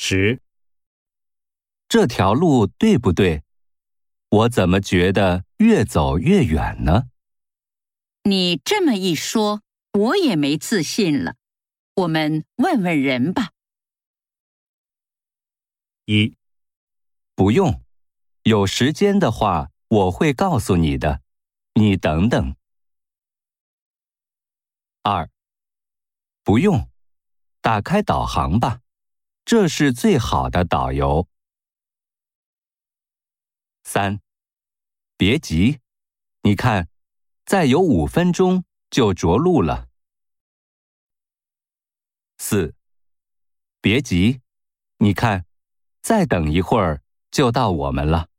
10、 这条路对不对？我怎么觉得越走越远呢？ 你这么一说，我也没自信了。我们问问人吧。 1、 不用，有时间的话我会告诉你的，你等等。2、不用，打开导航吧，这是最好的导游。3、别急，你看，再有5分钟就着陆了。4、别急，你看，再等一会儿就到我们了。